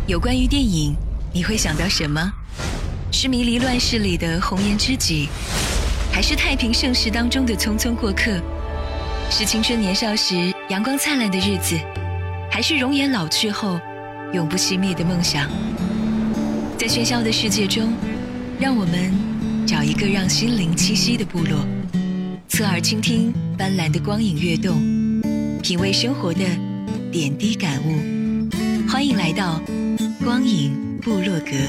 有关于电影，你会想到什么？是迷离乱世里的红颜知己，还是太平盛世当中的匆匆过客？是青春年少时阳光灿烂的日子，还是容颜老去后永不熄灭的梦想？在喧嚣的世界中，让我们找一个让心灵栖息的部落，侧耳倾听斑斓的光影跃动，品味生活的点滴感悟。欢迎来到光影部落格。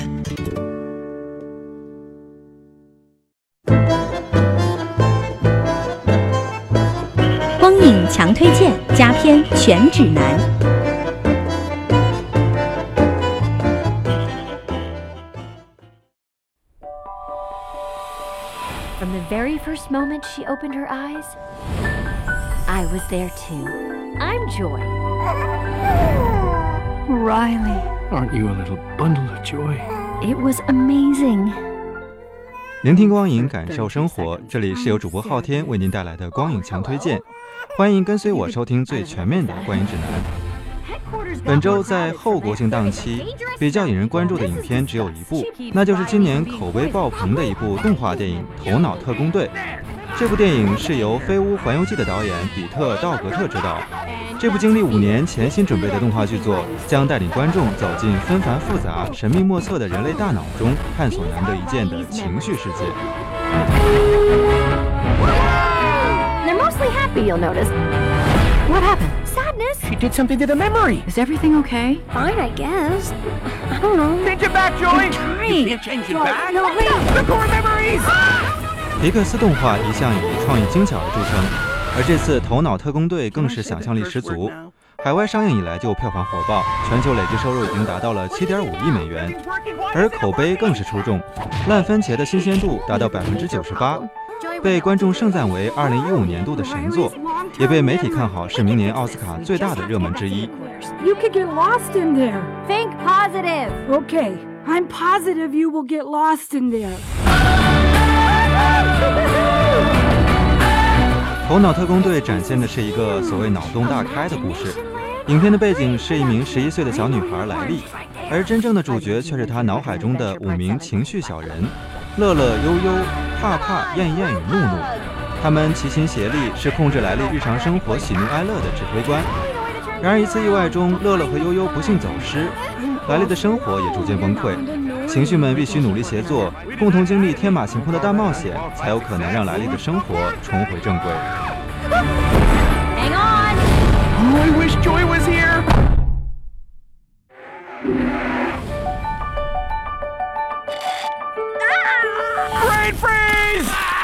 光影强推荐佳片全指南。 From the very first moment she opened her eyes, I was there too. I'm Joy. Riley. Aren't you a little bundle of joy? It was amazing. 聆听光影，感受生活，这里是由主播昊天为您带来的光影强推荐，欢迎跟随我收听最全面的观影指南。本周在后国庆档期比较引人关注的影片只有一部，那就是今年口碑爆棚的一部动画电影《头脑特工队》。这部电影是由《飞屋环游记》的导演比特·道格特执导。这部经历5年潜心准备的动画剧作，将带领观众走进纷繁复杂、神秘莫测的人类大脑中，探索难得一见的情绪世界。 They're mostly happy, you'll notice. What happened? Sadness? She did something to the memory. Is everything okay? Fine, I guess. I don't know. Change it back, Joy. I'm trying. You can't change it back. No, wait. The core memories. 皮克斯动画一向以创意精巧而著称，而这次《头脑特工队》更是想象力十足。海外上映以来就票房火爆，全球累计收入已经达到了7.5亿美元，而口碑更是出众，烂番茄的新鲜度达到98%，被观众盛赞为2015年度的神作，也被媒体看好是明年奥斯卡最大的热门之一。 You could get lost in there. Think positive. Okay, I'm positive you will get lost in there. 头脑特工队展现的是一个所谓脑洞大开的故事。影片的背景是一名11岁的小女孩莱莉，而真正的主角却是她脑海中的5名情绪小人：乐乐、悠悠、怕怕、燕燕与怒怒。他们齐心协力，是控制莱莉日常生活喜怒哀乐的指挥官。然而一次意外中，乐乐和悠悠不幸走失，莱莉的生活也逐渐崩溃。情绪们必须努力协作，共同经历天马行空的大冒险，才有可能让莱莉的生活重回正轨。 Hang on. Oh, I wish Joy was here. Brain freeze!